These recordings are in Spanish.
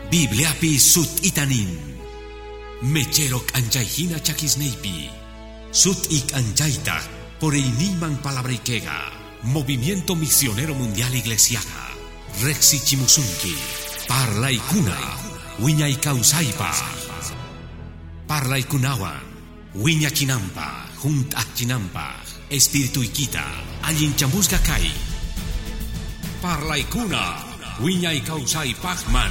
Bibliapi sut itanin. Mecherok anchayhina chakisneipi. Sut ik anchayta por iniman palabrikega. Movimiento Misionero Mundial Iglesiaga. Rexi Chimusunki. Parlaikuna. Wiñay kausaipa. Parlaikunawan. Wiña chinampa. Junt chinampa. Espiritu ikita. Allin chamusga kai. Parlaikuna. Wiñay kausai pachman.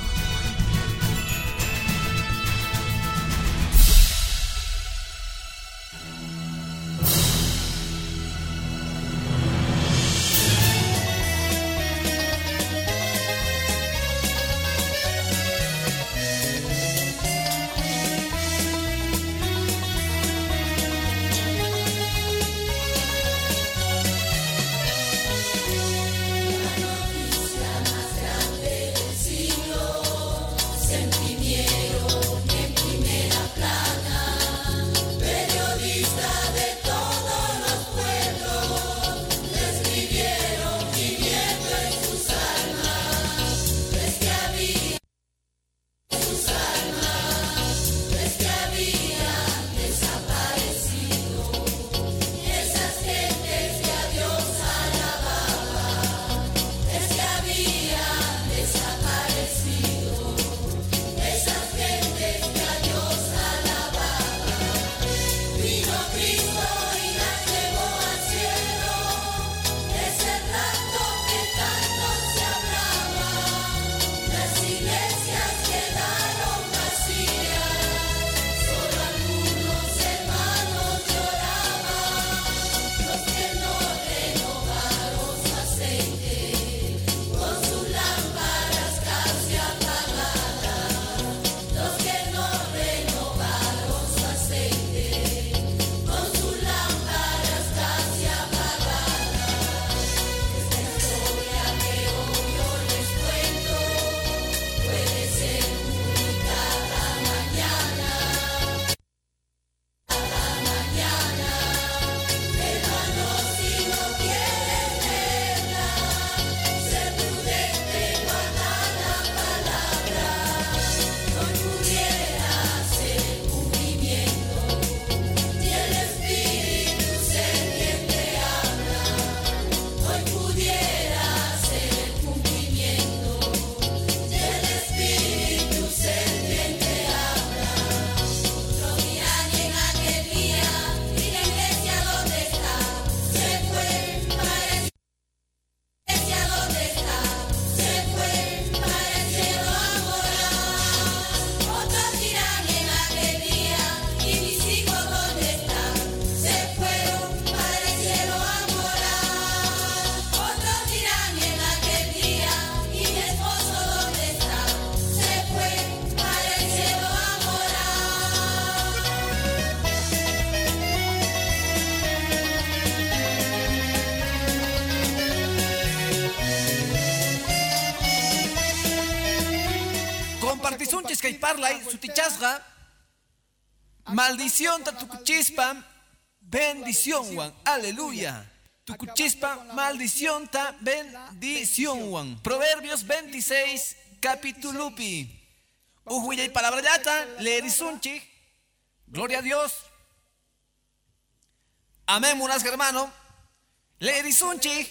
Compartisunchis kay parlay sutichasga maldición ta tukuchispa bendición wan aleluya tukuchispa maldición ta bendición wan Proverbios 26 capitulupi uhuillay palabra yata leerisunchi gloria a Dios amén munas hermano leerisunchi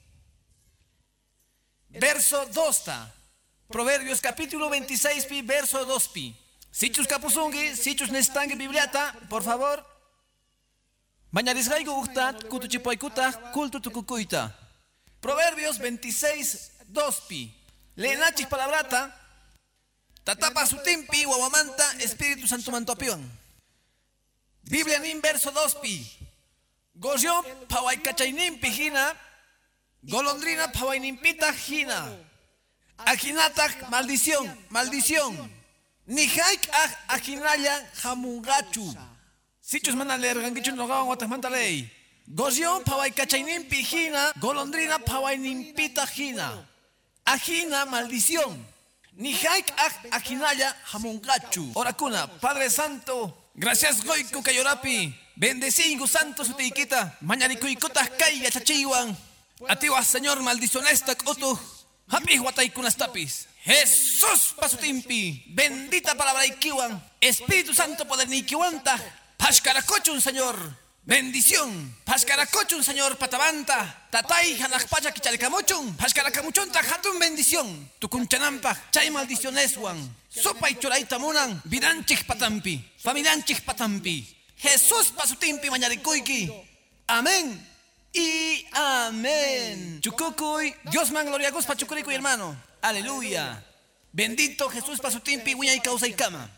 verso 2 ta Proverbios capítulo 26 pi verso 2 pi. Sichus kapusungi, sichus nestangi bibliata, por favor. Bañarisgaigo ustat, kutuchipoikuta, kultu tukukuita. Proverbios 26 2 pi. Leenachis palabrata. Tatapa sutimpi, wawamanta, Espíritu Santo mantopion. Biblia nin verso 2 pi. Goyo pawaikachainimpi hina. Golondrina pawainimpita hina. Ajinatak maldición, maldición. Nihaik ajinaya jamungachu. Sichus mana leer gangichu no gawan watas manta ley. Gozion pawai kachainin pijina, golondrina pawai nimpita jina. Ajina maldición. Nihaik ajinaya jamungachu. Oracuna, Padre Santo, gracias goiku kayorapi. Bendecigo santo su tiquita. Mañanikuikutas kaiga chachiwan. Atiwa Señor maldición esta kotu. Happy Wataikunas tapis. Jesús pasutimpi, bendita palabra ikiwan, Espíritu Santo poder nikiwanta, pashkarakochun Señor. Bendición. Pashkarakochun, Señor Patabanta. Tatay hanakpacha kichalikamuchun. Pashkarakamuchunta hatun bendición. Tukunchanampa. Chay maldicioneswan. Sopa y choraita munan. Vidanchik patampi. Familianchik patampi. Jesús pasutimpi mañarikuiki. Amén. Y amén. Chukukuy. Dios man gloria gus pachukuriku hermano. Aleluya. Bendito Jesús pasutimpi wiña y causa y cama.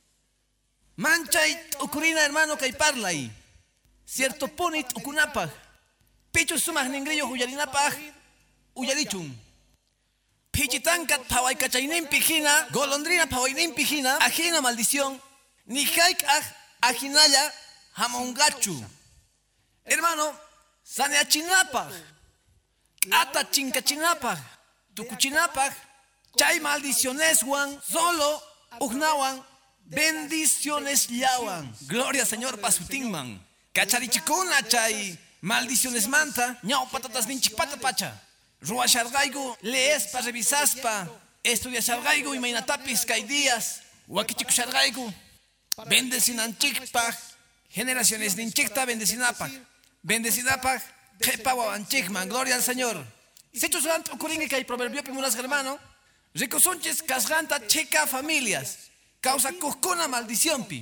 Manchay ukurina hermano kay parlay. Cierto ponit ukunapaj. Pichus sumas ningrillo huyarinapaj. Uyarichun. Pichitankat pawaikachaynin pijina. Golondrina pawainin pijina. Ajina maldición. Ni haik ajinaya hamongachu. Hermano, saneachinapaj. Ata chinkachinapaj. Tukuchinapaj. Chay maldiciones wan. Solo ugnawan. Bendiciones yawan. Gloria Señor pasutinman. Cacharichikuna chay maldiciones manta, ñau patatas ninchikpata pacha. Ruashargaigu, leespa, revisaspa, estudiashargaigu y mainatapis kay días, wakichikushargaigu, bendecinanchikpa, generaciones ninchikta bendecinapaj, bendecinapaj, jepa wawanchikman, gloria al Señor. Sechos gant okuringi kay proverbio pimunas hermano, ricosunches casganta checa familias, causa kuskuna maldición pi.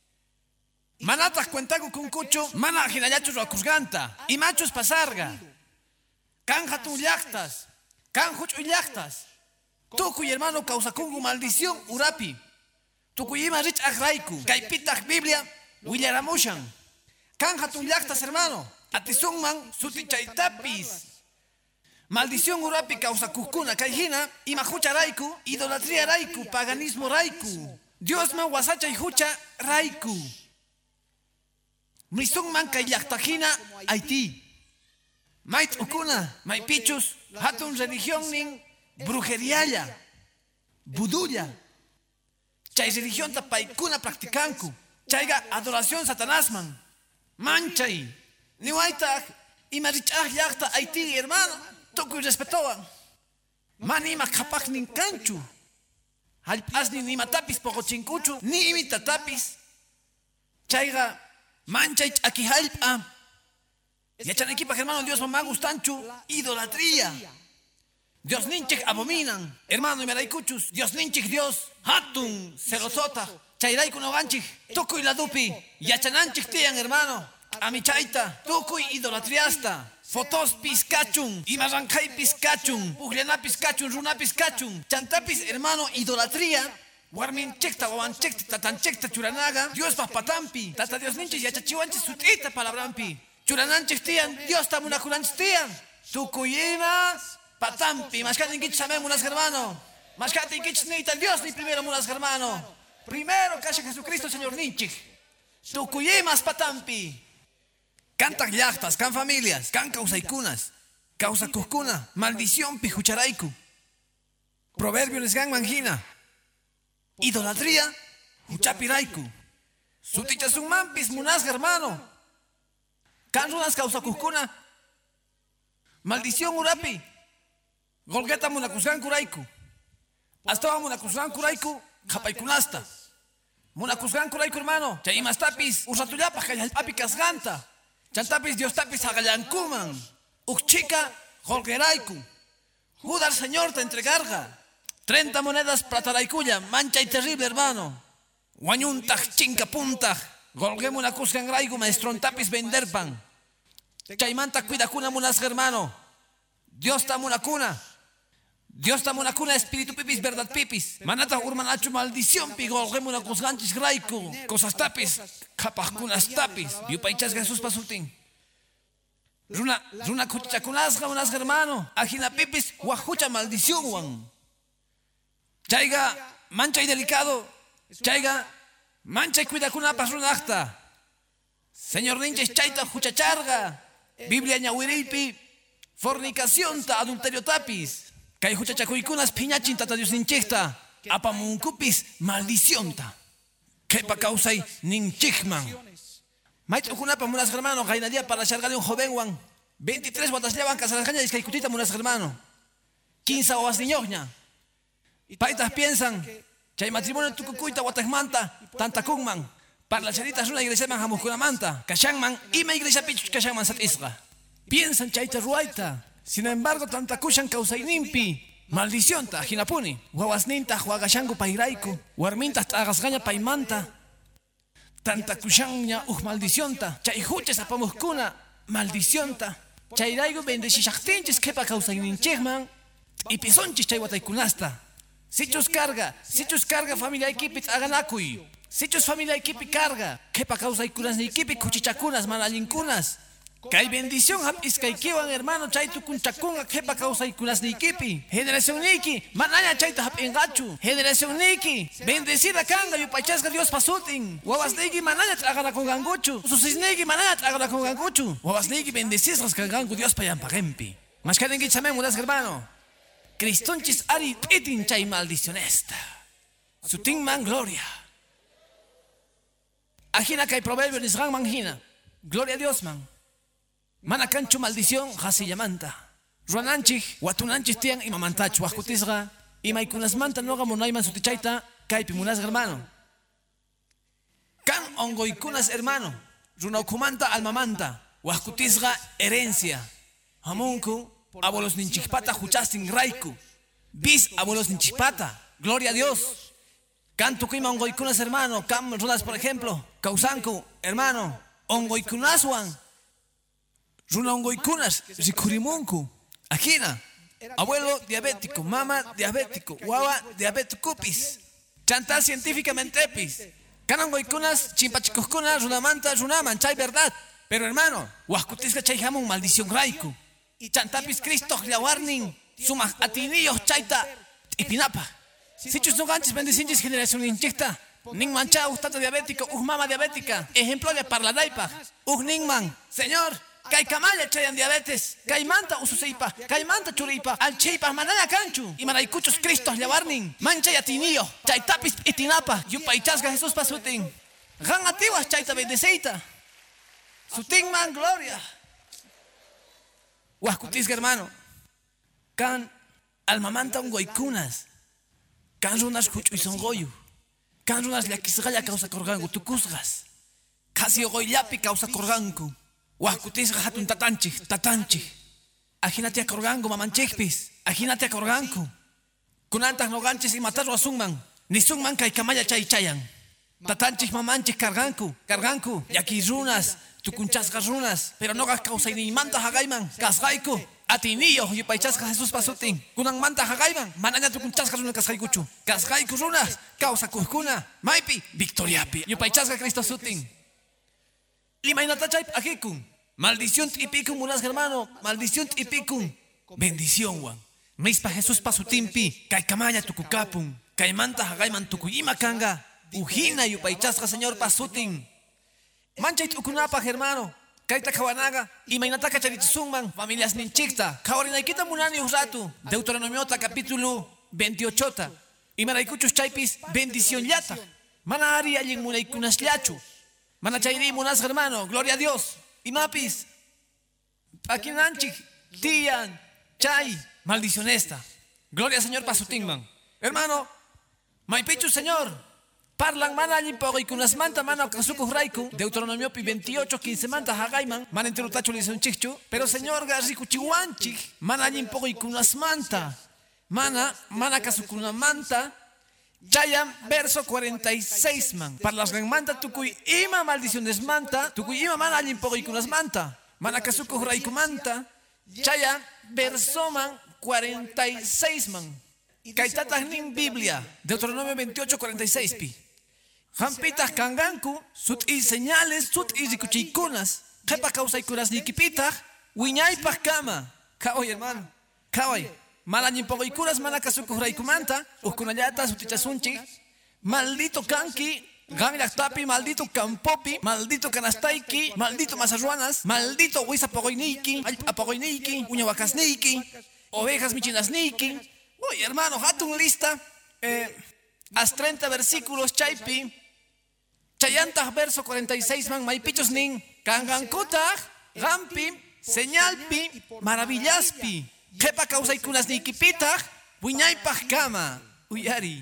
Manatas cuentago con cucho, mana ginayachos acusganta, y machos pasarga. Canja tu llactas, canjucho y llactas. Tu cuy hermano causa kungu maldición urapi. Tu cuyima rich agraiku, caipitach Biblia, willaramushan. Canja tu llactas hermano, atizungman sutichaitapis. Maldición urapi causa kuskuna, caijina, imajucha raiku, idolatría raiku, paganismo raiku. Dios man wasacha y hucha raiku. Misung man kay yaktajina Haití. Mait ukuna, may pichus, hatun religión nin brujeriaya, buduya. Chay religión ta paikuna practicanku. Chayga adoración satanasman. Manchay. Ni waita imarichah yakta Haití hermano. Toku respetoan. Mani makapak nin canchu. Halpas ni matapis pogochinkuchu. Ni imitatapis. Chayga manchay aquí halpa. Yachan equipa hermano Dios mamá gustanchu. Idolatría. Dios ninchik abominan. Hermano y meraykuchus. Dios ninchik Dios. Hatun celosota. Chayraiku no ganchik. Tukuy la dupi. Yachananchik tian hermano. Amichaita. Tukuy idolatriasta. Fotos piscachun. Imarrancay piscachun. Pugliana piscachun. Runa piscachun. Chantapis hermano idolatría. Warmin chekta, wawan chekta, tatan chekta churanaga, Dios papatampi, tata Dios ninchis yachachiwanchis sutita palabrampi, churananchis tian, Dios tamunakunanchis tian, tukuyima patampi, mashkati inkichis amén munas hermano, mashkati inkichis ni tan Dios ni primero munas hermano, primero kasha Jesucristo Señor ninchis, tukuyimas patampi, cantan yachtas, can familias, can causaikunas, causa kuskuna, maldición pijucharaiku, proverbio nesgan mangina. Idolatría, huchapiraiku. Sutichasun mampis munas hermano. Canrunas causa kuskuna. Maldición urapi. Golgeta munakuzgan kuraiku. Hasta munakuzgan kuraiku. Japaikunasta. Munakuzgan kuraiku hermano. Chaimas tapis. Usatuyapa kayalpapi kasganta. Chantapis Dios tapis hagayankuman. Ukchika golgeraiku. Judar Señor te entregarga. 30 monedas plataraikuya, mancha y terrible hermano. Guañuntaj, chinca puntaj. Golgemu una cuscan raigu, maestron tapis vender pan. Chaimanta cuida cuna munas hermano. Dios tamo una cuna. Dios tamo una cuna, espíritu pipis, verdad pipis. Manata urmanachu maldición pi, golgemu una cusganchis raiku. Cosas tapis, capaz cunas tapis. Yupaichas Jesús pasutin. Runa cuchakunasga unas hermano. Ajina pipis, guajucha maldición wan. Chaiga mancha y delicado. Chaiga mancha y cuida kuna pasrunachta. Señor ninches chaita huchacharga. Biblia ñawiripi. Fornicación ta adulterio tapis. Kay huchachakuikunas piñachin tata Dios ninchechta. Apamunkupis maldición ta. Kepa causay ninchikman. Maitro kunapa munas hermano. Gainadia para chargarle un joven wan. 23 guatas llevan casarajaña y escaicutita munas hermano. 15 oas niñoña. Paitas piensan, chay matrimonio tukukuita watakmanta, tanta kunman, para las charitas una iglesia man jamuskunamanta, kashanman, ima iglesia pichus kashanman sat isra. Piensan chayta ruaita, sin embargo tanta kushan causaininpi, maldición ta jinapuni, wawasninta huagashangu pairaiku, warminta tagasgaña paimanta, tanta kushanña maldición ta, chay huches apamuskuna, maldición ta, chayraigu bendecishachtinchis kepa causaininchikman, y pisonchis chay wataykunasta. Sichus carga familia equipit aganakuy. Sichus familia equipi carga. Kepa causaykunas ni equipi kuchichakunas manalinkunas. Kay bendición hap iskaykiwan hermano chaytu kunchakunga kepa causaykunas ni equipi. Generación niki manaya chayta hap engachu. Generación niki bendecida kanga yupaychasqa Dios pasutin. Wawasniki manaya traganakunganguchu. Susisniki manaya traganakunganguchu. Wawasniki bendecisas kangangu Dios payampaqempi. Mashkarinki chamemunas hermano. Cristonchis ari pitin chay maldicionesta. Sutin man gloria. Ajina kay proverbio nisgan manjina. Gloria a Dios man. Manakanchu maldición hasillamanta. Ruananchik, watunanchis tian imamantach wakutisga. Imaykunas manta noga monayman sutichayta. Kay pimunas hermano. Kan ongoykunas hermano. Runaukumanta almamanta. Wakutisga herencia. Hamunku. Abuelos ninchipata huchastin raiku. Bis abuelos ninchipata. Gloria a Dios. Canto kuima ongoykunas hermano. Cam runas por ejemplo. Causanku hermano. Ongoykunaswan. Runa ongoykunas. Rikurimunku. Ajina. Abuelo diabético. Mama diabético. Guava diabético pis. Chantal científicamente pis. Can ongoykunas chimpachicoskunas runamanta runaman. Chay verdad. Pero hermano. Huascutisca chay jamón maldición raiku. Y chantapis Cristo warning sumas atinillos chaita y pinapa. Si chus no ganches bendicinches generación inchicta. Ning mancha tata diabético, mama diabética. Ejemplo de parladaipa. Ningman. Señor, kay kamaya chayan diabetes. Kay manta ususeipa. Kay manta churipa. Al cheipa manaya canchu. Y manaycuchos Cristo warning. Mancha y atinillo. Chaitapis y tinapa. Yupaichasga Jesús pasutin. Gan atiwas chaita bendeceita. Sutin man gloria. Huascutisga hermano. Can almamanta ongoykunas. Can runas huchuisongoyu. Can runas llakisgalla causa corgangu tukusgas. Casi ogoyapi causa corgangu. Huascutisga hatun tatanchi. Ajínate a corgangu mamanchikpis. Ajínate a corgangu. Kunantas no ganches y matarlo a sungman. Ni sungman kay kamaya chayan. Tatanchis mamanchis carganku. Yaki runas. Tukunchasgas runas, pero no gas causa ni manta hagaiman, casgaiku, atinillo, y paichasga Jesús pasutin, kunan manta hagaiman, mananya tukunchasgas runas casgaikuchu, casgaiku runas, causa kuskuna, maipi, victoriapi, y paichasga Cristo sutin. Limainatachay akikun, maldición tipicum unas hermano, maldición tipicum, bendición wan. Mispa Jesús pasutinpi, kaikamaya tukukapun, kaimanta hagaiman tukuyima kanga, ujina y paichasga Señor pasutin. Manchait ukunapa hermano. Kaita kawanaga. Imainataka charitzungman. Familias ninchikta. Kawarinaikita munani usatu. Deuteronomiota capítulo 28. Imaraykuchus chaypis bendición yata. Mana ari allin munaykunas llachu. Mana chayri munas hermano. Gloria a Dios. Imapis. Pakinanchik. Tian. Chay. Maldición esta. Gloria al Señor pasutingman. Hermano. Maipichu Señor. Parlan mana allin pogoykunas manta mana kasuku raiku. Deuteronomio 28, 15 manta hagaiman. Mana enterutacho lison chichu. Pero Señor garriku chihuanchik. Mana allin pogoykunas manta. Mana kasukuna manta. Chayan verso 46 man. Parlas manta tukuy ima maldiciones manta. Tukuy ima mana allin pogoykunas manta. Mana kasuku raiku manta. Chayan verso man 46 man. Kaitatas nin Biblia. Deuteronomio 28, 46 pi. Jampitas kanganku, sut y señales, sut y rikuchikunas. Jepa causa y curas nikipita, wiñaypas kama. Kawai hermano, kawai. Malañin pogo y curas manacasuku raikumanta, uskunayata sutichasunchi. Maldito kanki, ganyak tapi, maldito campopi, maldito canastaiki, maldito masarruanas, maldito huisa pogoiniki, apogoiniki, uñawakasniki, ovejas michinasniki. Uy hermano, hatun lista. Haz 30 versículos chaipi. Chayantas verso 46 man maipichos nin kangankutah gampi señalpi maravillaspi kepa causa ikunas nikipitah wiñaypah kama uyari.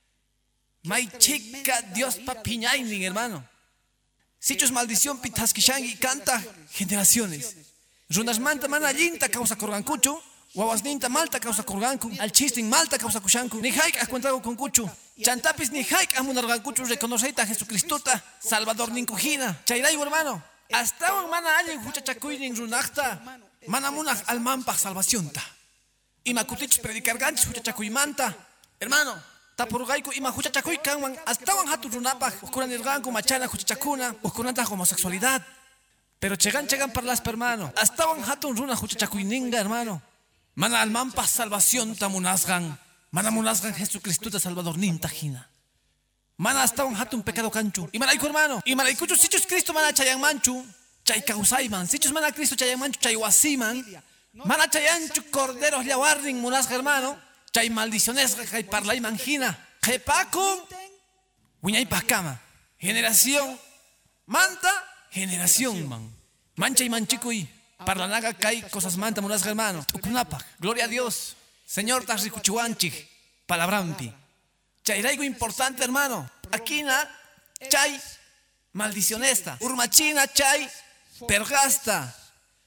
May chica Dios pa piñaynin, hermano. Sichos maldición pitaskishangi canta generaciones. Runas manta mana allinta causa corgancucho. Wawasninta malta causa corgancu. Al chistin malta causa kushanku. Ni haik acuentrago con cucho. Chantapis ni haik amunargancucho reconoceita a Jesucristota. Salvador ninkujina. Chayray, hermano. Hasta un mana allen huchachakuynin runakta. Mana munaj almampaj salvacionta. Ima kutich predicar ganchis huchachakuymanta. Hermano. Tapurgaiku ima huchachakuy kanwan. Hasta un hatu runapaj. Ukuranirganku machana huchachakuna. Ukuranta homosexualidad. Pero chegan para hermano. Hasta un hatu runa huchachakuyninga, hermano. Mana almampaj salvación tamunasgan. Mana munasgan Jesucristo Salvador nintajina. Mana hasta un hatun pecado canchu. Y malaiku, hermano. Y malaikuchu sichus Cristo mana chayan manchu. Chay causaiman. Sichus mana Cristo chayan manchu chay wasiman. Mana chayanchu corderos yawarning munasga, hermano. Chay maldiciones chay parlay manjina. Jepakun. Wiñay pacama. Generación. Manta. Generación man. Mancha y manchikuy. Parlanaga kay cosas manta munasga, hermano. Tukunapa. Gloria a Dios. Señor Tasrikuchuanchik. Palabrampi. Chayraigo importante, hermano. Aquina, chay, maldicionesta. Urmachina, chay, pergasta.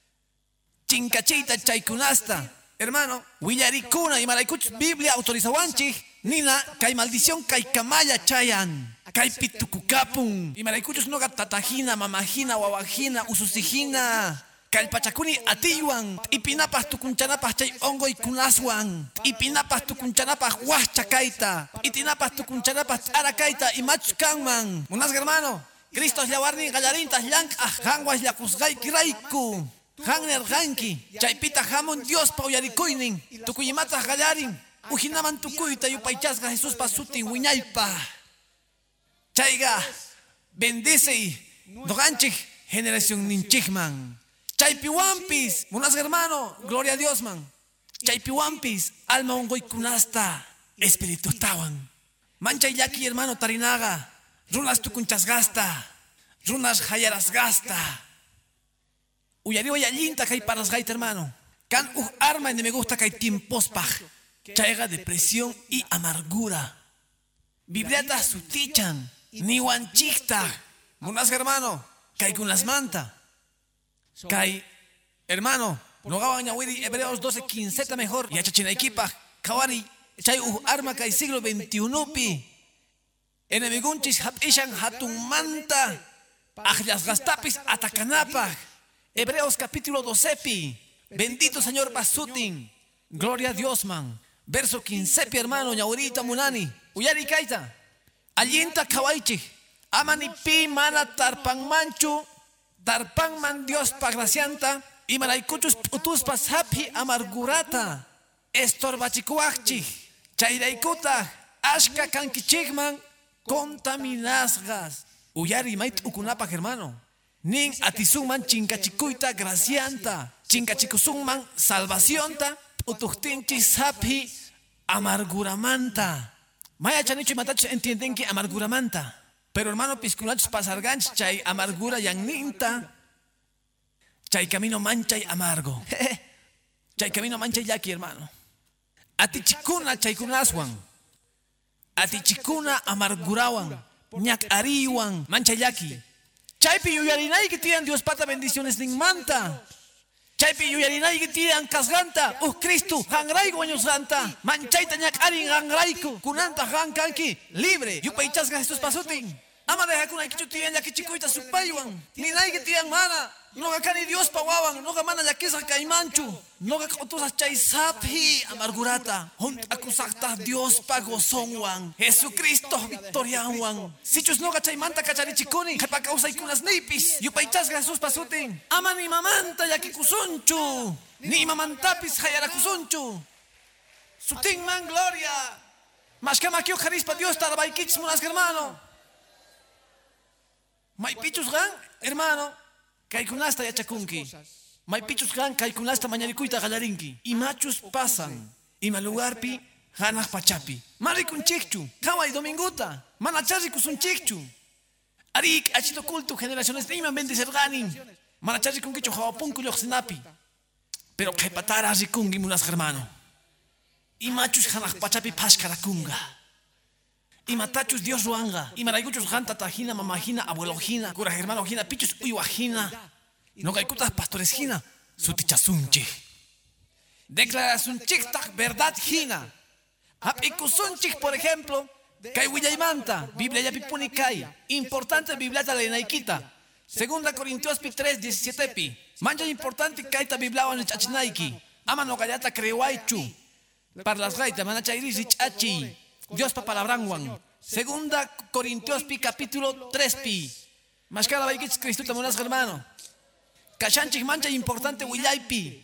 Chincachita, chay kunasta. Hermano, Willaricuna y Malaikuch, Biblia autorizawanchik. Nina, kay maldición, kay kamaya chayan. Kay pitukucapun. Y Malaikuchus no tatajina, mamajina, wawajina, ususijina. Kalpachakuni atiywan. Ipinapas tukunchanapas chay ongo y kunaswan. Ipinapas tukunchanapas huachakaita. Itinapas tukunchanapas arakaita y machkanman. Munasga, hermano. Cristo es yawarni gallarintas llank hanguas yakusgay kiraiku. Hangner hanki. Chaypita hamon Dios pauyarikuinin. Tukuyimatas gallarin. Ujinaman tukuyta yupaychasga Jesús pasutin wiñaypa. Chayga bendice y doganchik generación ninchikman. Chaypiwampis, munasga, hermano, gloria a Dios, man. Chaypiwampis, alma ongoy kunasta, espíritu tawan. Mancha yaki, hermano, tarinaga. Runas tukunchas gasta. Runas hayaras gasta. Uyariwa yallinta kay paras gaita, hermano. Kan arma en me gusta kay timpospaj. Chayga depresión y amargura. Bibliata sutichan. Ni wanchikta. Munasga, hermano, kay kun las manta. Kai, hermano, no gaban ñawiri Hebreos 12:15 mejor. Y achachinaikipa, kawari, chay arma kai siglo XXI pi. Enemigunchis hapishan hatun manta. Ajlas gastapis atacanapa. Hebreos capítulo 12 pi. Bendito Señor Basutin. Gloria a Dios, man. Verso 15 pi, hermano, ñawirita munani. Uyari kaita. Allinta kawaichi. Amani pi mana tarpan manchu. Tarpan man Dios pagracianta y malaikuchus putus pasapi amargurata estorbachikuachchi chayraikuta ashka kankichikman contaminasgas uyari mait ukunapa, hermano. Nin atizunman chinkachikuita gracianta chinkachikusunman salvacionta utuhtinchi sapi amarguramanta. Maya chanicho y matacho entienden que amarguramanta. Pero, hermano, pisculachos pasarganch, chay amargura yanninta. Chay camino mancha y amargo. Chay camino mancha y yaki, hermano. Atichikuna chay kunaswan. Atichikuna amargurawan. Ñak ariwan. Mancha yaki. Chaypi yuyarinay que tiran Dios pata bendiciones nin manta. Chaypi yuyarinay que tiran kasganta. Cristo, hangraigo años santa. Manchaita ñak arin hangraiku. Kunanta hankanki. Libre. Yupaychasga Jesús pasutin. Ama deja kuna kichu tiyan ya kichikuita supaywan. Ni nai que tiyan mana. Noga kani Dios pawawan. Noga mana ya kisa kaimanchu. Noga kautusas chay sapi amargurata. Hunt akusakta Dios pagosonwan. Jesucristo victorianwan. Sichus noga chay manta kacharichikuni. Kepa causa ikunas nipis. Yupaychasga Jesús pasutin. Ama ni mamanta ya kikusunchu. Ni mamantapis hayarakusunchu. Sutin man gloria. Mas kama kyo carispa Dios tarabaikich munas, hermano. May pichus gan, hermano, kay kunasta yachakunki. May pichus gan, kay kunasta mañarikuita galarinki. Y machos pasan. Y malugarpi, ganas pachapi. Marikun chikchu, kawai dominguta. Manachari kusun chikchu. Arik, achito culto, generaciones de iman bendicer ganin. Manachari kunkicho jawapunku yoxinapi. Pero kay patara rikungi munas, hermano. Y machus hanaj pachapi pashkarakunga. Y matachus Dios ruanga. Y marayuchus janta tajina, mamajina, abuelojina, cura hermanojina, pichus uyuajina. No gaikutas pastores jina, sutichasunchi. Declaración chiktak verdad jina. Apikusunchik, por ejemplo, kai willaymanta, Biblia ya pipuni kai. Importante Biblia de Naikita. 2 Corintios 3, 17 pi. Mancha importante kaita Biblia en chachinaiki. Ama no gallata creuaichu. Para las gaitas, manachairi chachi. Dios pa palabranguan. 2 Corintios pi capítulo 3 pi. Mashkala baikich Cristo tamunas hermano. Kashanchik mancha importante willaypi.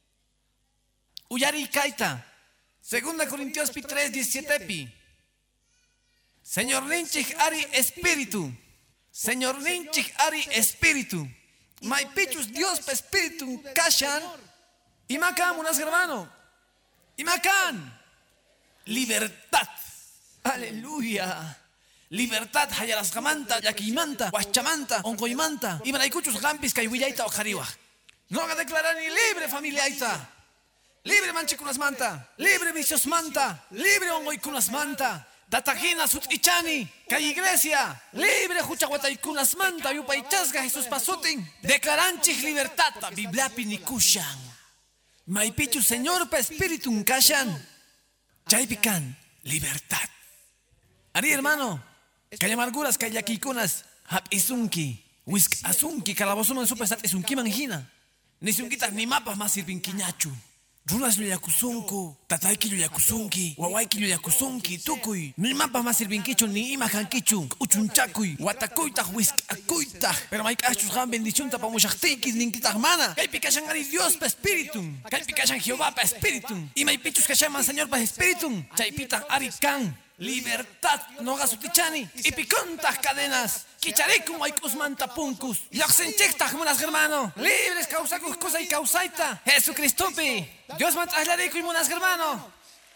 Uyari kaita. 2 Corintios pi 3, 17 pi. Señor ninchik ari espíritu. Señor ninchik ari espíritu. Maipichus Dios pa espíritu kashan. Y macan unas hermano. Y macan. Libertad. Aleluya. Libertad hayalas gamanta, yakimanta, huachamanta, ongoimanta. Y manaikuchus gampis kaiwillaita o jariwa. No haga declarar ni libre familia aita. Libre manchikunas manta. Libre vicios manta. Libre ongoikunas manta. Datajina sut ichani. Kay iglesia. Libre huchahuataikunas manta. Yupaichasga Jesús pasutin. Declaranchik libertad. Bibliapi nikushan. Maipichu Señor pa espíritu kashan. Chaypican. Libertad. Ari hermano. Kay amarguras kay yakikunas. Hap isunki. Wisk asunki. Calabosuman supesat isunki manjina. Ni sunkitas ni mapas más sirvin kiñachu. Runas yakusunku, tataiki yakusunki, wawaiki yakusunki, tukuy. Ni mapas más sirvinkichu ni imajankichu, uchunchakuy, watakuitah, whiskakuitah. Pero maikachus han bendición pa mushachtikis ninkitah mana. Kay pikashan ari Dios pa espíritum. Kay pikashan Jehová pa espíritum. Y maipichus kashaman Señor pa espíritum. Chaypitah ari kan. Libertad, no gasutichani. Y picontas cadenas. Kicharikum aikus mantapuncus. Yoxenchectas, monas hermano. Libres causacus cosa y causaita. Jesucristupi. Dios mantraslarico y monas hermano.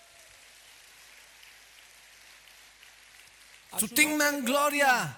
Sutingman gloria.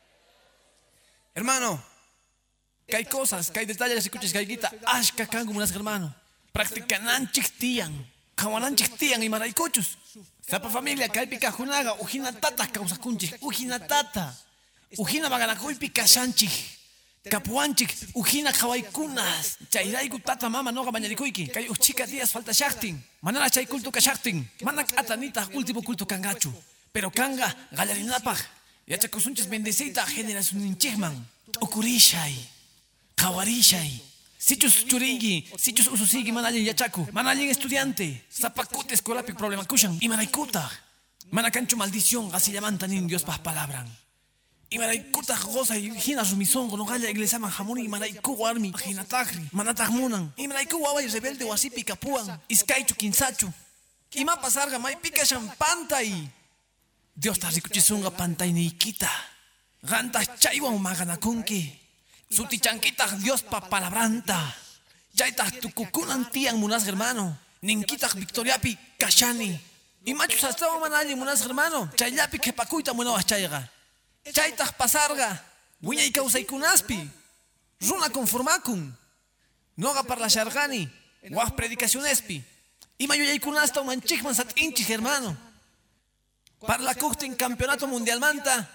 Hermano. Que hay cosas, que hay detalles, escuches, que hay guita. Ashka kangu monas hermano. Practicanan chictian. Kawanan chictian y maraicochus. Sapa familia, kalpika junaga, ujina tata causakunchik, ujina tata. Ujina baganakuipi kashanchik. Kapuanchik, ujina kawaikunas. Chayraiku tata mama noga bañarikuiki. Kay uchika días falta shaktin. Manana chay kultu kashaktin. Manak atanita último culto kangachu. Pero kanga galarinapaj. Yachakusunchis bendecita generación ninchikman. Okurishay. Kawarishay. Sichus churingi, sichus ususigi manalin yachaku, manalin estudiante, zapacute escolapic problema kushan, y manaikuta, manacancho maldición, así llaman tanin Dios pas palabran. Y manaikuta goza y hina sumison, no galla iglesia manjamuni, y manaiku armi, jinatagri, manatagmunan, y manaiku guaway rebelde o así picapuan, iskaichu kinsachu, y ma pasarga, mai pica champanta y Dios ta rikuchisunga panta y niquita, gantas chaiwa maganakunki. Sutichanquitas Dios pa palabranta. Chaitas tucucunan tian munas hermano. Ninquitas victoriapi kashani. Y machos hasta manali munas hermano. Chayapi que pacuita munovas chaiga. Chaitas pasarga. Wiña y causa y kunaspi. Runa conformacun. Noga para la shargani. Guas predicacionespi. Y mayoya y kunasta manchikman sat inchis hermano. Para la en campeonato mundial manta.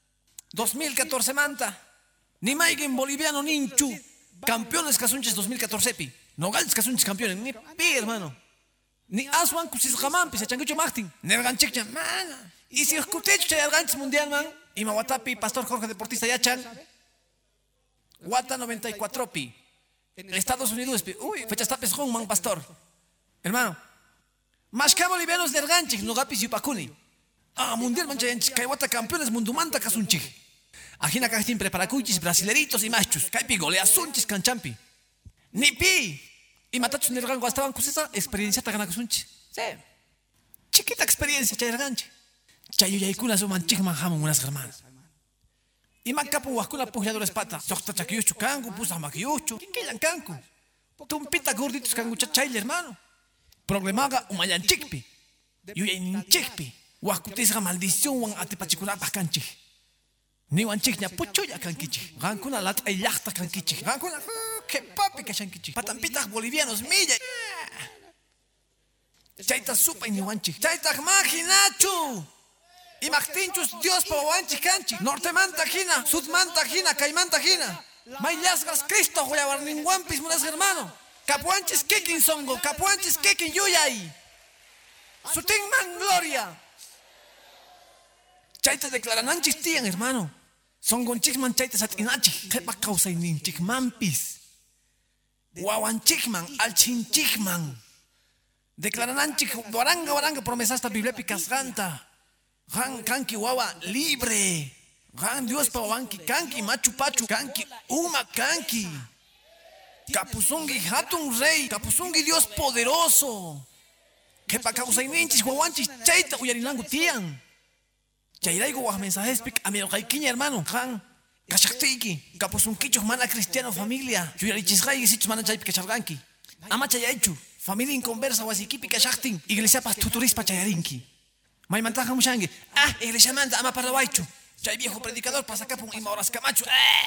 2014 manta. Ni Maigen boliviano ninchu. Campeones casunches 2014 pi. No gales casunches campeones. Ni pi hermano. Ni aswan kusis jamampi. Se changucho Martin. Nerganchikcha. Mana. Y si escutecho chay arganches mundial man. Y mawatapi pastor Jorge deportista yachan. Guata 94 pi. Estados Unidos pi. Uy. Fechas tapes hong man pastor. Hermano. Más que bolivianos de arganchik. No gapis yupakuni. Ah mundial mancha yanchik. Kaiwata campeones mundumanta casunchik. Ajina cajtin preparacuchis, brasileritos y machos. Caipi goleasunchis canchampi. Ni pi. Y matachos nergango estaban con esa experiencia taganacusunchis. Sí. Chiquita experiencia chayerganche. Chayuyaikunas o manchik manjamon unas hermanas. Y macapu huascuna pujalladores pata. Sokta chakiyuchu kangu, pusa makiyuchu. ¿Qué quedan kangu? Tumpita gorditos kangu chachayl hermano. Problemaga umayanchikpi. Yuyaninchikpi. Huascutisga maldición wan atepachicurapas canchik. Ni wanchikña puchuya kankichi. Gankuna lat ayachta kankichi. Gankuna que papi kashankichi. Patampitas bolivianos milla. Chaita supa niwanchik. Chaita maginachu. Imagtinchus Dios pawanchik kanchik. Nortemanta hina, sudmanta hina, caimanta hina. Mayasgas Cristo huyawarninguampis munas hermano. Capuanchis kekin songo, capuanchis kekin yuyay. Sutinman gloria. Chaita declarananchis tian hermano. Songonchikman chaita satinachik. Kepa causayninchik mampis. Wawanchikman, alchinchikman. Declarananchik waranga promesasta biblepicas ganta. Han kanki wawa libre. Han Dios pawanki kanki machu pachu kanki uma kanki. Kapuzungi hatun rey, kapuzungi Dios poderoso. Que pa causayninchis wawanchis chaita uyarilangu tian. Chairaigo wa mensajes pik amiro kaikiña hermano. Han kashaktiki kapuzunkichos mana cristiano familia. Yuyarichis gai sichos mana chaypi kacharganki. Ama chayaichu. Familia inconversa wasikipi kashaktin. Iglesia pas tuturispa chayarinki. Maimantaja mushangi. Iglesia manda ama parlawaichu. Chay viejo predicador pasa acá por ima horas camacho.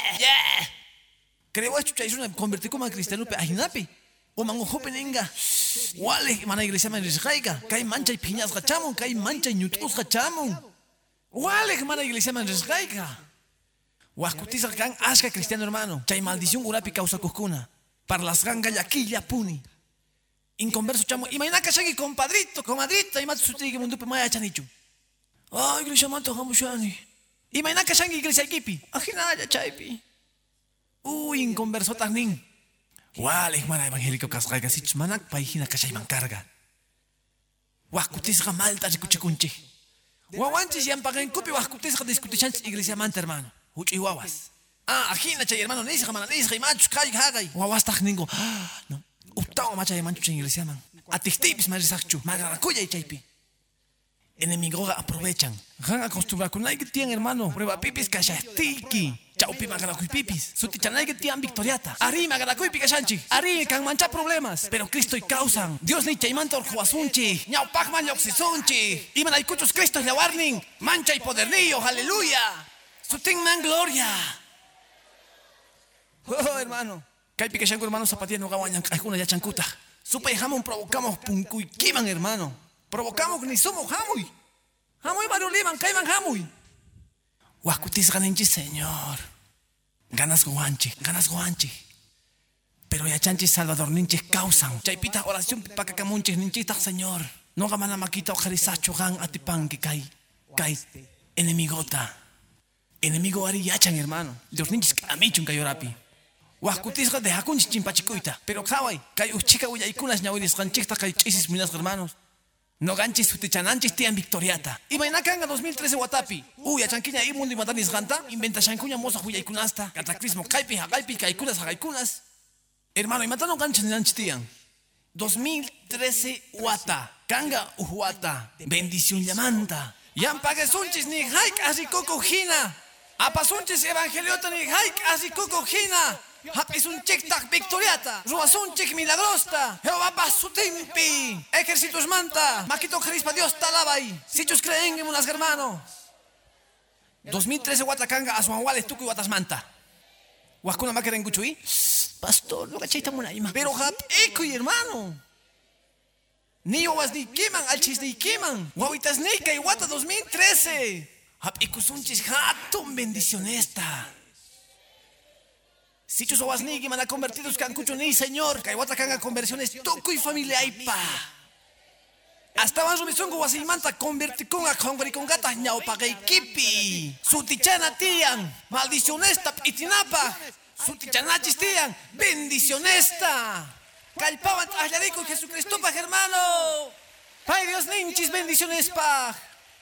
Creo esto chay una convertí como a cristiano pe ajinapi. O mango hopeninga. Wale mana iglesia man resgaiga. Kai mancha y piñas gachamon, kai mancha y ñutos gachamon. Wale mana iglesia man resgaiga. Huascutiza gan asca cristiano hermano. Chay maldición urapi causa cuscuna. Para las ganga yaquilla puni. Inconverso chamo. Imagina que shagi compadrito, comadrita, y matu sutigi mundupe maya chanichu. Iglesia manto hamushani. Imagina que shagi iglesia equipi. Ajinaya chaipi. Inconverso tanin. Wale mana evangélico casraiga sich manak paihina kashay man carga. Huascutisga malta chikuchikunchi. Wawanchis yan pagan kupi huascutisga discutichanchis iglesia manta hermano. Huchi wawas. Ajina chay hermano nisga mana nisga y machus kay hagay. Wawas tajningo. No. Uptao macha de mancho en iglesia man. Atistipis marisachu. Magaracuya y chaipi. Enemigoga aprovechan. Han acostumbrado con que tienen hermano. Prueba pipis kashastiki. Chaupi magaracuy pipis. Sutichanay que tienen victoriata. Ari magaracuy pikashanchi. Ari can mancha problemas. Pero Cristo y causan. Dios ni chaimanta orjuasunchi. Ñau pacman yoxisunchi. Iman hay cuchos Cristo y la warning. Mancha y podernillo. Aleluya. Sutin man gloria. Oh hermano. Kai pikashanku hermano zapatilla no gawañan. Alguna ya chancuta. Supa y jamón provocamos punkuikiman hermano. Provocamos ni somos hamuy. Hamuy marioliman, caiman hamuy. Huascutis ganenchi, Señor. Ganas guanchi. Pero ya chanchis Salvador ninchis causan. Chaipita oración pipacacamunchis ninchita, Señor. No gamana maquita ojarisacho gan atipanki kai enemigota. Enemigo ari yachan hermano. Dios ninchis amichun kayorapi. Huascutis de hakunchis chimpachicuita. Pero kawai, kai uchica huyaikunas ñawiris ganchista kai chisis minas hermanos. No ganchis sutichananchis tian victoriata. Imagina kanga 2013 Watapi. Achanquiña y mundo y matanis ganta. Inventa chancuña moza huyaykunasta. Cataclismo kaipi hagaipi kaikunas hagaikunas. Hermano, y matano ganchis nanchis tian. 2013 Wata. Kanga uhuata. Bendición llamanta. Yampagesunchis ni haik así kokojina. Apasunchis evangeliota ni haik así kokojina. Hapis un chic-tac victoriata. Ruas un chic milagrosta. Jehová pa su timpi. Ejércitos manta. Maquito Jerispa Dios talabay. Sichos creen en unas hermano. 2013 Huatacanga a su aguales tuco y Huatas manta. Huascuna maquera en Guchuy. Pastor, no cachaita munaima. Pero hap y hermano. Ni owas ni kiman, alchis ni kiman. Huavitas nika y Huata 2013. Hap ikusunchis hatun bendición esta. Si chus owas ni man convertidos cancucho ni Señor, Kaiwata canga conversiones toco y familia aipa. Hasta van subisongo wasimanta converti con a congri con gata ñao pagay kipi. Sutichana tian, maldicionesta itinapa. Sutichanachis tian, bendicionesta. Calpaban trasladico Jesucristo pa hermano. Pai Dios ninchis bendiciones pa.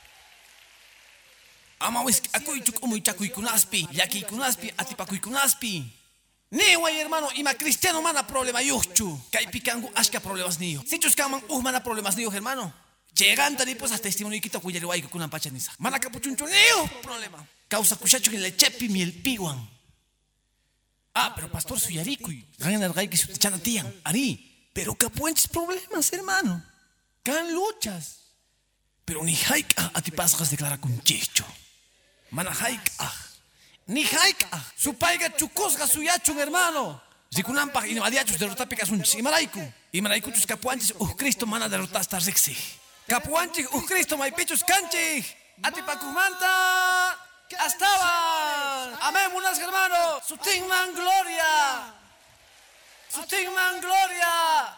Amawis akuichuk umuy chakuikunaspi, yakikunaspi, atipakuikunaspi. Ni guay hermano, ima cristiano mana problema yuchu. Kai picangu ashka problemas niyo. Si chuscaman mana problemas niyo hermano. Lleganta ni pues hasta testimonio quita cuyari guay que kunan pachanisa. Mana capuchuncho niyo problema. Causa cuchacho que le chepi miel piguan. Pero pastor suyaricui. Ganan el gay que su tichana tian. Ari. Pero capuenches problemas hermano. Can luchas. Pero ni haika a ti pasas declara con chicho. Mana haika. Ni haika. Su paiga chukosga suyachun hermano. Zikunampa y no adiachus de rotapicas un chimaraiku. Y manaykuchus capuanchis Cristo mana derrotasta rixi. Capuanchis Cristo maypichus canchis. Atipacumanta. Estaban. Amén, unas hermanos. Sutingman gloria. Sutingman gloria.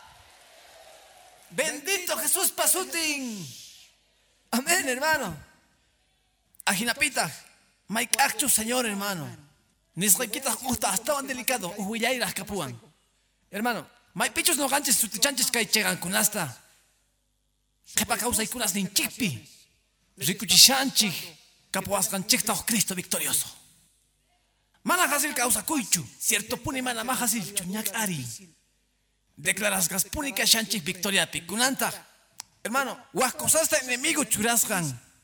Bendito Jesús pasutin. Amén, hermano. Ajinapita. Mike Actu, Señor, hermano. Nisrequitas gusta, estaban delicados. Uhuilairas capuan. Hermano, Mike Pichos no ganches sutichanches que llegan con hasta. Que pa causa y cunas nin chipi. Ricuchishanchi. Capuas ganchecta o Cristo victorioso. Mana hasil causa cuichu. Cierto puni mana mahasil chuñac ari. Declaras gaspúnica shanchis victoria picunanta. Hermano, huascosasta enemigo churasgan.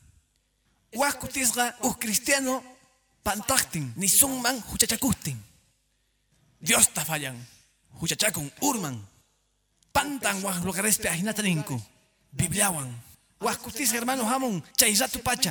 Huascutisga cristiano pantachtin, ni sungman huchachakustin. Dios ta fallan. Huchachakun urman. Pantan huas lugares peajinataninku. Bibliawan. Huascutisga hermano hamon chayratu pacha.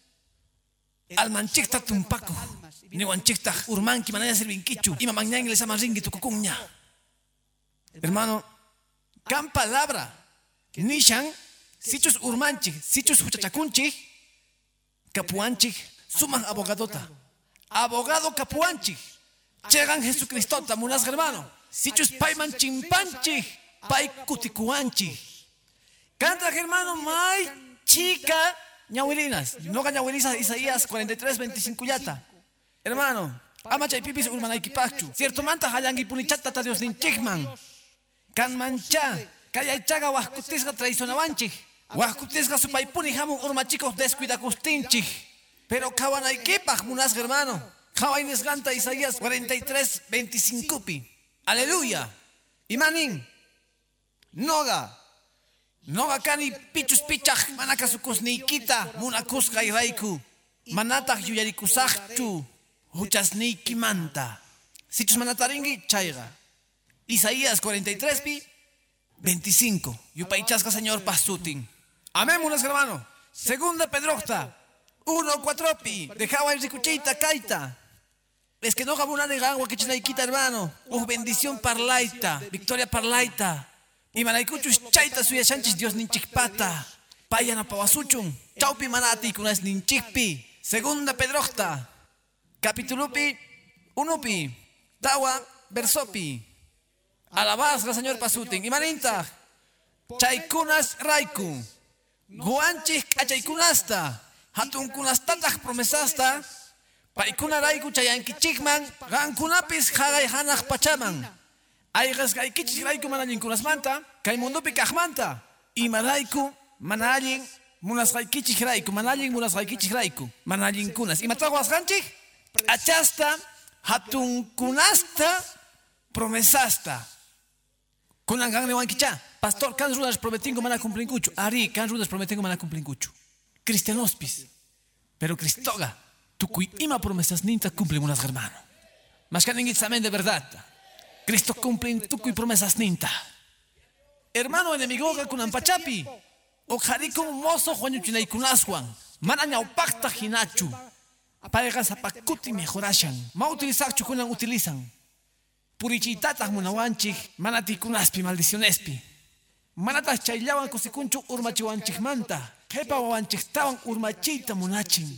Almanchikta tumpaco. Ni wanchikta urmanki manaya servinkichu. Ima mañana les amaringi tu cucuña. Hermano, can palabra. Nishan, sichus urmanchik, sichus huchachacunchik, capuanchik, suman abogadota. Abogado capuanchik. Llegan Jesucristota, munas hermano. Sichus paiman chimpanchik, pai cuticuanchik. Canta hermano, may chica ñahuelinas. No ñahuelinas Isaías 43:25 yata. Hermano, ama chay pipis urmanaikipachu. Cierto manta hayangi punichata ta Dios ninchikman. Can mancha. Kaya chaga huascutisga traicionabanchik. Huascutisga supaipuni hamun urmachicos descuidacustinchik. Pero kawanaikipak munas hermano. Kawaines ganta Isaías 43:25 pi. Aleluya. Imanin. Noga. Noga kani pichus pichach manakasukus nikita munakusga iraiku. Manatach yuyarikusachchu. Huchasniki manta. Sichus manataringi chaiga. Isaías 43 pi. 25. Yupaichasca Señor pasutin. Amén, unas hermano. Segunda Pedrocta. 1:4 pi. Dejaba el ricuchita kaita. Es que no gabuna de agua que chinaikita hermano. Bendición parlaita. Victoria parlaita. Y manaicuchus chaita suya chanchis Dios ninchikpata. Payana pawasuchun. Chaupi manati kunas ninchikpi. Segunda Pedrocta. Capítulo pi. 1 pi. Tawa versopi. Alabazga Señor pasutin. Imaninta. Chaykunas raiku. Guanchis kachaykunasta. Hatun kunastatach promesasta. Paikuna raiku chayankichikman. Gankunapis hagay hanach pachaman. Aygas gaikichik raiku manalin kunasmanta. Kay mundupi kajmanta. Imaraiku manalin munas gaikichik raiku. Manalin munas gaikichik raiku. Manalin kunas. Imataguas ganchik. Achasta. Hatun kunasta. Promesasta. Kunan gang newankicha. Pastor, kan rudas prometingo mana cumplincuchu. Ari, kan rudas prometingo mana cumplincuchu. Cristianospis. Pero Cristoga, tu cui ima promesas ninta cumple unas hermano. Mas que ninguitzamen de verdad. Cristo cumple tu cui promesas ninta. Hermano enemigo kunan pachapi. O jarico mozo juanyuchinay kunaswan. Manaña opacta hinachu. Paegas apacuti mejorashan. Ma utilizachu kunan utilizan. Purichitatas munawanchik, manati kunaspi maldicionespi. Manatas chayllawan kusikunchu urmachiwanchik manta. Kepa wawanchik tawan urmachita munachin.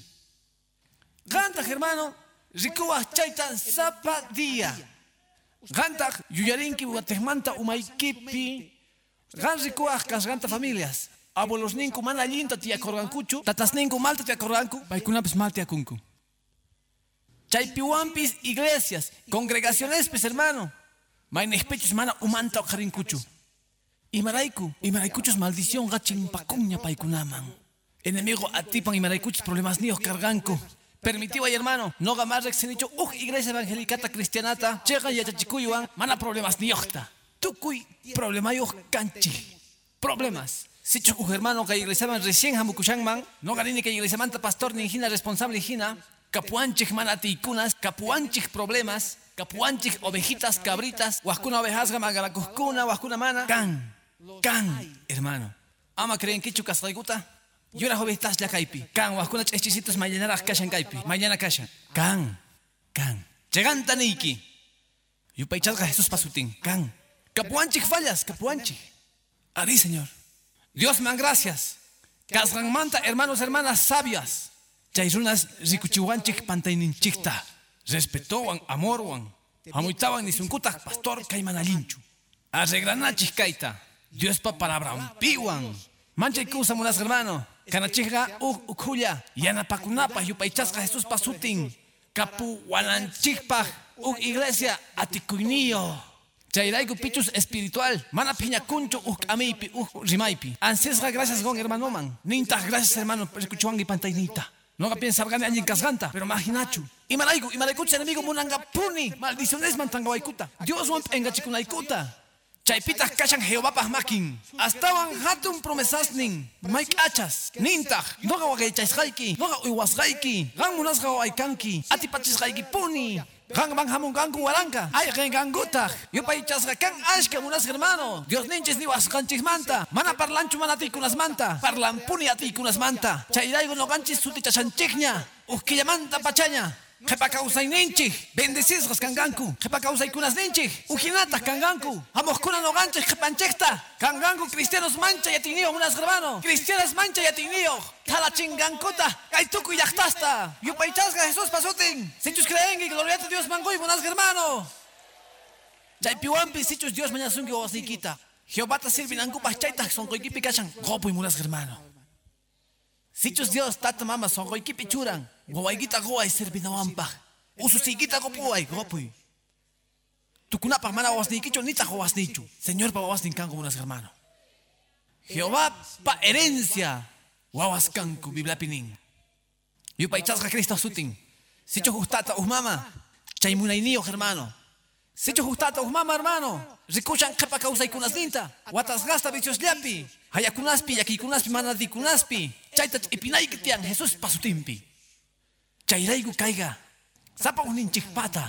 Ganta hermano, rikuwa chayta zapa día. Ganta yuyarinki watejmanta umaikipi. Gan rikuwa kasganta familias. Abuelos ninku mana linta tiakorgankuchu. Tatas ninku malta tiakorganku. Paikunapis malta tiakunku. Chaypiwampis iglesias, congregaciones, pues hermano. Mainespechus mana umanta okarinkuchu. Imaraikuchus maldición gachin pacuña paikunaman. Enemigo atipan imaraikuchus problemas nios carganku. Permitió ay hermano, no gamar rexenicho, iglesia evangelicata cristianata, chega y achachikuyuan, mana problemas niocta. Tukuy problemayos canchi. Problemas. Si chu hermano que iglesia recién hamukushangman, no garini que iglesia manta pastor ni hina responsable hina. Capuanchik manatikunas, capuanchik problemas, capuanchik ovejitas, cabritas, huascuna ovejasga, magalacuskuna, huascuna mana. Can, hermano. Ama creen que chucas raiguta. Yo las ovejitas ya caipi. Can, huascuna chechisitos mañana cashan caipi. Mañana cashan. Can. Llegan taniki. Yo paichasga Jesús pasutin. Can. Capuanchik fallas, capuanchik. Ari, Señor. Dios man gracias. Kasranmanta, hermanos, hermanas sabias. Chayrunas rikuchiwanchik pantayninchikta. Respetawan, amorwan. Hamuitawan ni sunkutak pastor kaymanallinchu. Arreglanachik kaita. Dios pa palabrampiwan. Manchay kusamunas hermano. Kanachikga ukhulla. Yanapakunapa yupaychasqa Jesús pasutin. Kapu walanchikpaj iglesia atikuyniyo. Chayrayku pichus espiritual. Mana piñacuncho amipi rimaypi. Ancesra gracias gon hermano man. Ninta gracias hermano escuchuangi pantaynita. No piensa gane alguien casganta, pero imaginachu. Imarayku enemigo munanga puni. Maldiciones mantangawaikuta. Dios wan engachikunaikuta. Chaypitas kashan Jehová makin. Astawan hatun promesasnin. Maik achas. Nintaj. Noga wagaychaysqayki. Noga uywasqayki. Gan munasqa waykanki. Atipachisqayki puni. Gan van hamun ganku waranka. Ay gangutaj. Yupaychasqa kan ashka munas hermano. Dios ninches ni wasqanchis manta. Mana parlanchu mana tikunas manta. Parlan puni atikunas manta. Chayraygo no ganchis sutichashanchikña. Uskillamanta pachaña. Jepa causay ninchik, bendecizas kanganku, jepa causay kunas ninchik, ujinatas kanganku, amos kuna no ganchik jepanchekta, kanganku cristianos mancha yatinio unas hermano, cristianas mancha yatinio, tala chingankota, kaituku yachtasta, yupaychasga Jesús pasutin, sichus creen y gloriate a Dios mangoy unas hermano. Chaypiwampi sichus Dios mañasungi o asiquita, Jehová ta sirvin ankupas chaitas son koikipi kachan, gopu y unas hermano. Sichus Dios tata mama son goikipi churan. Gowaygita goay servinawampaj. Ususigita gopuay gopuy. Tukunapaj mana wasnikicho nita wasnichu. Señor pa wasninkanku unas hermano. Jehová pa herencia. Wawaskanku biblapinin. Yupaychasqa Cristo sutin. Sicho justata mama. Chaymunayniyo hermano. Sicho justata mama hermano. Rikuchan kepa kausaykunas ninta. Watasgasta vicios llapi. Hayakunaspi yakikunaspi manadikunaspi. Chaytach ipinaykitian Jesús pasutimpi. Chayraygu kaiga, sapa uninchikpata.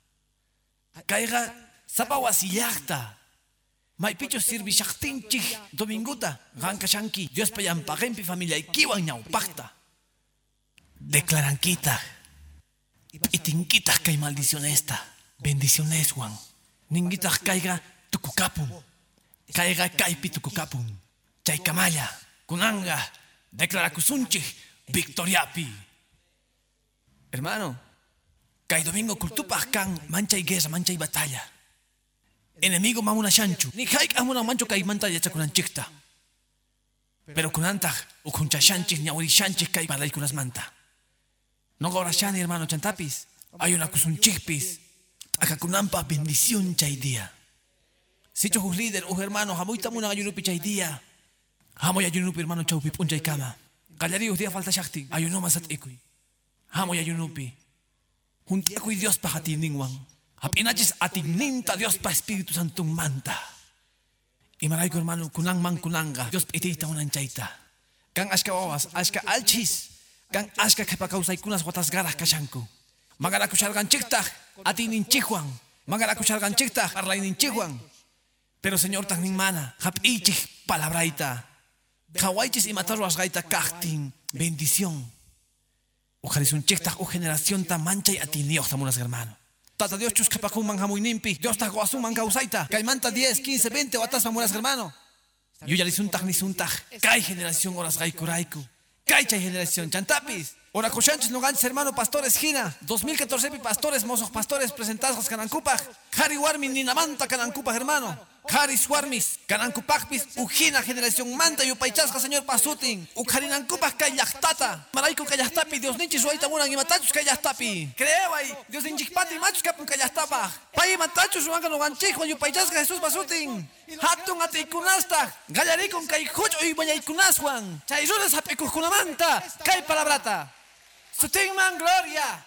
Kaiga, sapa wasillakta. Maypicho sirvishaktinchik dominguta. Gankashanki, Dios payampagempi familia ikiwan ñawpakta. Declaranquita. Itinquita kay maldicionesta. Bendiciones wan. Ninguita kaiga tukukapun. Kaiga kaipi tukukapun. Chaykamaya, kunanga, declarakusunchik, victoriapi. Hermano, kay domingo kultupaj kan mancha y guerra, mancha y batalla. Enemigo mamuna shanchu. Ni haik amuna mancho kay manta yachakunanchikta. Pero kunantaj ukuncha shanchik ñawri shanchik kay balay kunas manta. No gora shani hermano chantapis. Hay una kusunchikpis. Akakunampa bendición chay día. Sicho hus líder, hermano, hamuita muna ayunupi chay día. Hamoy ayunupi hermano chaupi punchay kama. Gallarius día falta shakti. Ayuno masat ikuy. Hamo yayunupi. Juntiakuy Dios pa hatiningwan. Hapinachis atigninta Dios pa Espíritu Santo manta. Y marayko hermano kunang man kunanga. Dios pitita unanchaita. Kan ashka wawas, ashka alchis. Kan ashka kepa kausay kunas watas garas kashanku. Magarakusharganchikta atininchihuan. Magarakusharganchikta arlayninchihuan. Pero Señor tagnin mana. Hapichik palabraita. Hawaichis y matarwas gaita kahtin. Bendición. Ujarisun chekta o generación ta mancha y atinioch tamunas hermano. Tata Dios chus kapakun manja muy nimpi. Dios ta guasun manga usaita. Caimanta 10, 15, 20 o atas tamunas hermano. Yo ya lisuntaj ni suntaj. Kai generación horas raiku raiku. Kai chay generación chantapis. Ora cochanchis no ganches hermano pastores Gina. 2014 pastores mozos pastores presentados canancupaj. Hari warmin ni namanta canancupaj hermano. Hari swarmis canancupajpis ujina generación manta y upaychasca señor pasutin. Ujarinancupaj kayachtata. Maraiku kayahtapi Dios ninchis suaita munan y matachus kayahtapi. Creebay Dios ninchikpati machus kapun kayahtapa. Pay matachus suanga no ganchijo y upaychasca Jesús pasutin. Hatun ateikunasta. Gallarikun kayhucho y bañaykunaswan. Chayrunas apikukunamanta. Kay palabrata. Sutin man gloria.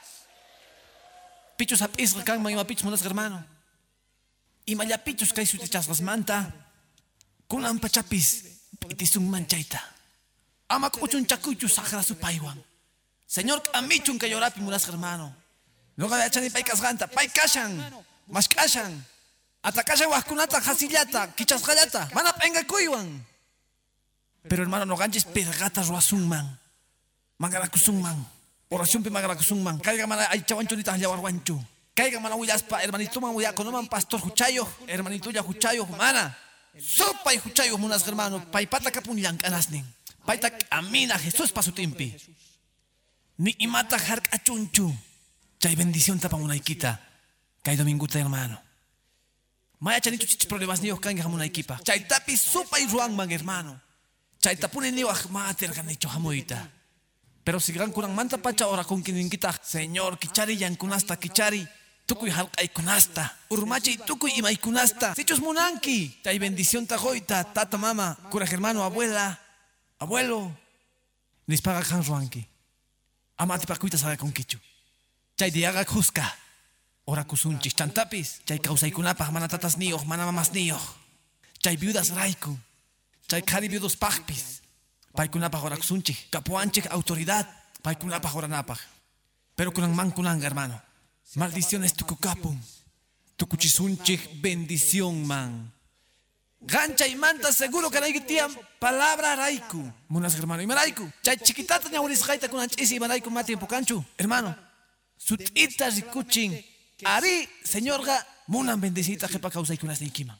Pichus apis kan mayma pichus munas hermano. Y mayapichus kay sutichasgas manta. Kunan pachapis itisung manchaita. Amak uchun chakuchu sakra su paiwan. Señor amichun kayorapi munas hermano. No gayachani pay kasganta, pay kashan. Mas kashan. Atakashan waskunata hasillata, kichasgallata. Mana penga kuywan. Pero hermano no ganches pergata ruasungman. Mangarakusungman. Oración pi magarakusungman. Kaiga mana ay chawanchu nita yawarwanchu. Caiga mana huyaspa, hermanito man huya, conoman pastor huchayo, hermanito ya huchayo, mana. Sopa y huchayo, munas hermano, paipata capun yankanasnin. Paita amina Jesús pa su timpi. Ni imata hark achunchu. Chay bendición tapa munaikita. Chay dominguta hermano. Maya chanito chichi problemas niyo kanga munaikita. Chay tapi sopa y ruang man hermano. Chay tapune niyo ahmater ganicho hamuita. Pero si gran kurang manta pacha ora con quien kita. Señor, kichari yankunasta kichari. Tukuy halkay kunasta. Urmachi tukuy imay kunasta. Sichos munanki. Chay bendición tajoita, tata mama, cura hermano, abuela, abuelo. Nispaga kan ruanki. Amati pakuita saga con kichu. Chay diaga kuska. Ora kusunchis chantapis. Chay kausaykunapaj mana tatas niyoh, mana mamas niyoh. Chay viudas raiku. Chay kari viudos pajpis. Paikunapaj ora kusunchik. Kapuanchik autoridad. Paikunapaj ora napaj. Pero kunang man kunanga hermano. Maldiciones tucukapun. Tucuchisunchik bendición man. Gancha y manta seguro que hay tiam palabra raiku. Munas hermano y maraiku. Chay chiquitata ñauris jaita con anchisi y maraiku mati en pocanchu. Hermano. Sutita rikuchin. Ari, señor ga, munan bendecita jepa causa y kunas nikima.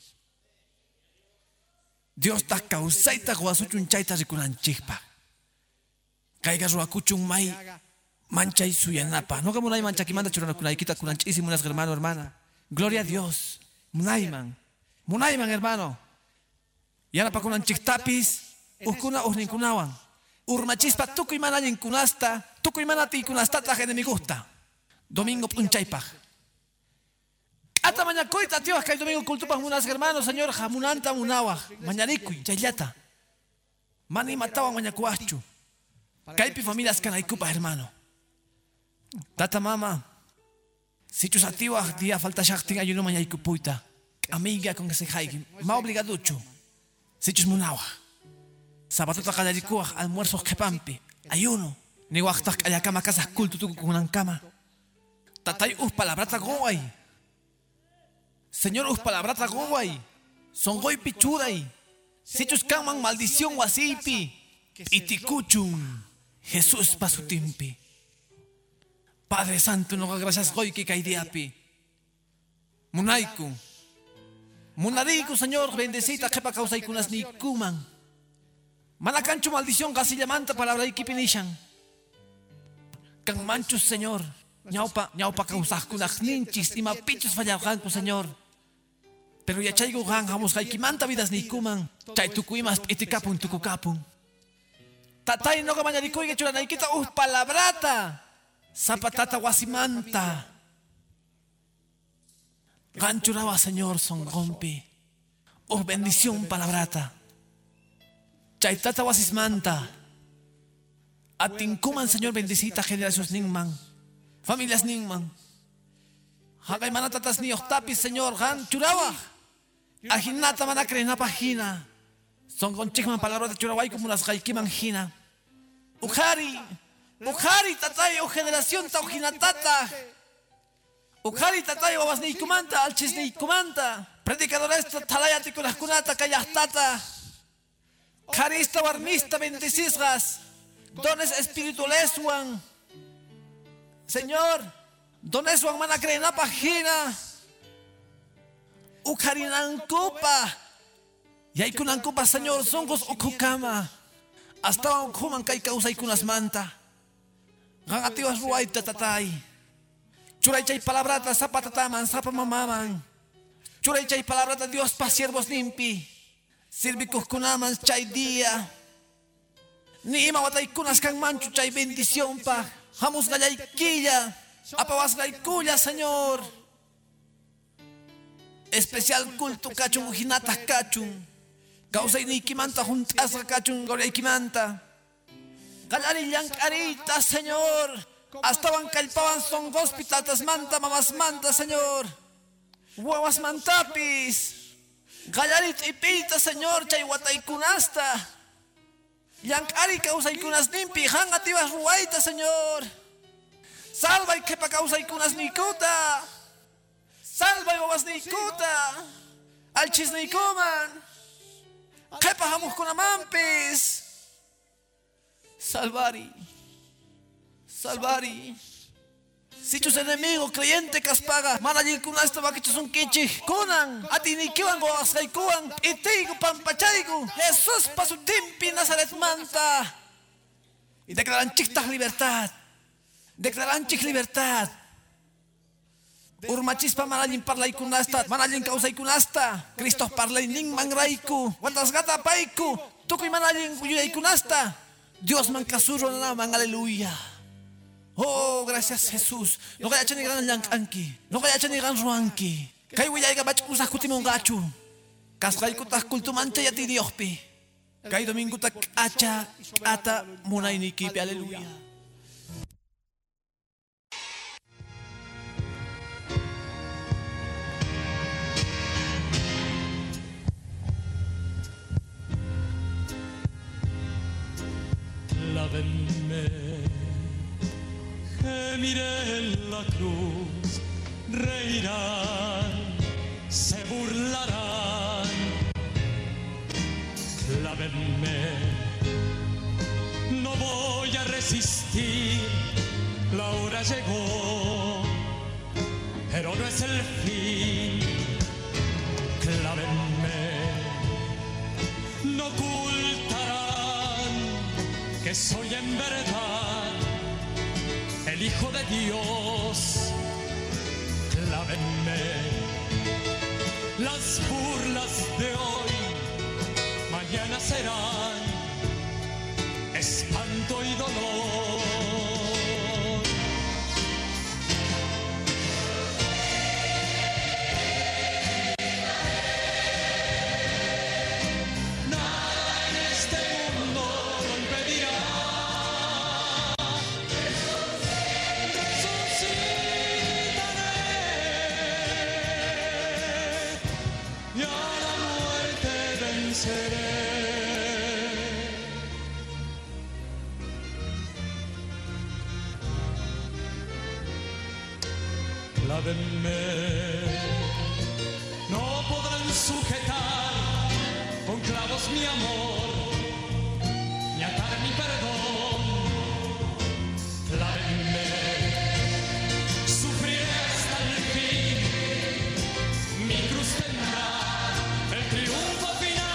Dios ta causaita guasuchun chaita rikunan chikpa. Caiga ruacuchun mai. Mancha y suyanapa. No como una mancha que manda churana con aikita con anchísimas hermano, hermana. Gloria a Dios. Munaiman. Munaiman, hermano. Y ahora para con anchiktapis. Ukuna usninkunawan. Urmachispa tuku y manayin kunasta. Tuku y manati kunasta traje de mi gusta. Domingo punchaipaj. Ata mañacoita, tío, que el domingo cultupas munas hermanos, señor jamunanta munawa. Mañanicuy, chayata. Mani mataban mañacuachu. Caipi familias canaikupa, hermano. Tata mama, si tus activas día falta shakting ayuno mañana y cupuita, amiga con que se jaigue, ma obligaducho, si tus munawa, sabato takallarikuah, almuerzos que pampi, ayuno, ni guachtak ayakama casas culto tu con una cama, tatay palabrata goay, señor palabrata goay, son goy pichuray, si tus caman maldición wasipi, itikuchun, Jesús pasutimpi. Padre Santo, no gracias hoy que caidiapi. Munaiku. Munariku, Señor, bendecita que pa causa y kunas ni kuman. Manacancho maldición, gasilla manta palabra y kipinishan. Can manchos, Señor. Ñaupa causas kunas ninchis y mapichos fallarranco, Señor. Pero ya chaigo gan, jamos manta vidas ni kuman. Chay tukuimas itikapun tukukapun. Tatay no gamañarikuy que churanaikita palabrata. Zapatata guasimanta. Ganchuraba, Señor, son rompi. Bendición palabrata. Chaitata guasismanta. Atinkuman, Señor, bendecita generaciones ningman. Familias ningman. Hagay manatatas ni octapis, Señor, ganchuraba. Ajinata manacrena pagina. Son conchigman palabras de churabay como las gaikiman jina. Ujari. Ujari tatay o generación taujinatata. Ujari tatay o basneikumanta, alchisneikumanta. Predicadores talayati con las kunata kayastata. Carista barmista bendecisgas. Dones espirituales wan. Señor, dones wan manacrena pagina. Ujarinankupa. Y hay kunankupa, Señor, songos okukama. Hasta okuman kay causa y kunas manta. Gangatiwas ruwaita tatay. Churay chay palabrata zapatataman, zapamamaman. Churay chay palabrata Dios pa siervos limpi. Sirvicos kunaman chay día. Ni ima watay kunas kang manchu chay bendición pa. Hamus gayay quilla. Apawas gay kuya, Señor. Especial culto cachun ujinata cachun. Causa y nikimanta juntas cachun goria ikimanta. Galarillán carita, Señor. Hasta van calpaban son hospitales manta, mamás manta, Señor. Huevas mantapis. Gallarit y pita, Señor, chayhuatay kunasta. Yankari causa y kunas nimpi, hangativas ruaita, Señor. Salva y kepa causa y kunas nikuta. Salva y babas nikuta. Alchis nikuman. Kepa hamus kunamampis. Salvari, salvari, Si tus enemigos creyente caspaga, manallil kunasta vaquichos un kichi, kunan, atinikiwan go asaykuan, itigo pampachaigo, Jesús pasu timpi Nazaret manta. Y declaran chictas libertad. Declaran chik libertad. Urmachispa manallin parlay kunasta, manallin causay kunasta, Cristo parlay ning mangraiku, guantas gata paiku, tukuy manallin yuyay kunasta. Dios mancasuro naman, aleluya. Oh, gracias Jesús. No kaya chan igan anki. No kaya chan igan ruanki. Kay wiyay ka bach kusah kutimong gachu. Kasray kutak kultumante yati Diospi. Kay domingo tak acha ata munay ni kipi. Aleluya. Lávenme, gemiré en la cruz, reirán, se burlarán. Clávenme, no voy a resistir, la hora llegó, pero no es el fin. Clávenme, no ocultarán que soy en verdad el Hijo de Dios. Clávenme, las burlas de hoy mañana serán espanto y dolor. Clávenme, no podrán sujetar con clavos mi amor, ni atar mi perdón. Clávenme, sufriré hasta el fin, mi cruz tendrá el triunfo final.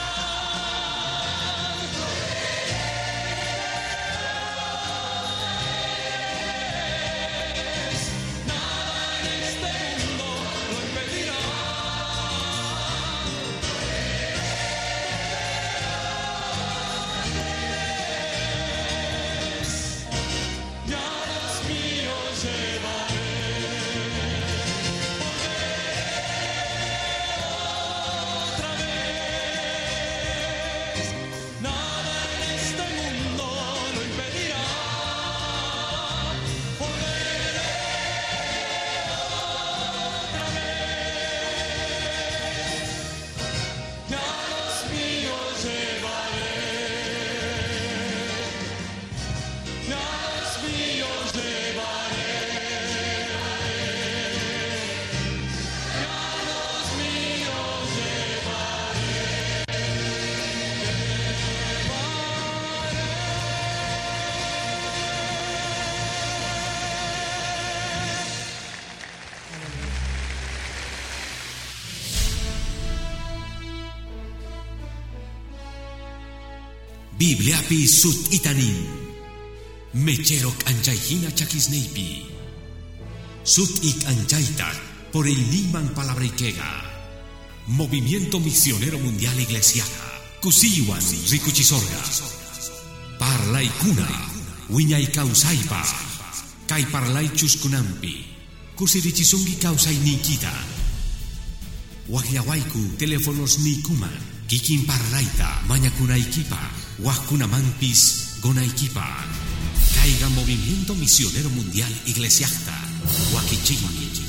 Bibliapi sut itanin, mecherok anchayhina chakisneipi, sut ik anchaita por el niman palabrikega, Movimiento Misionero Mundial Iglesiaca, Kusiwan Rikuchisorga, Parlay Kuna, Wiñay Kausaipa, Kai Parlay Chuskunampi, Kusirichisungi Kausay Nikita, Wahyawaiku teléfonos Nikuman, Kikin Parlaita, Mañakunaikipa, Wahkunamampis Gonaikipa, Caiga Movimiento Misionero Mundial Iglesiasta, Wakichini.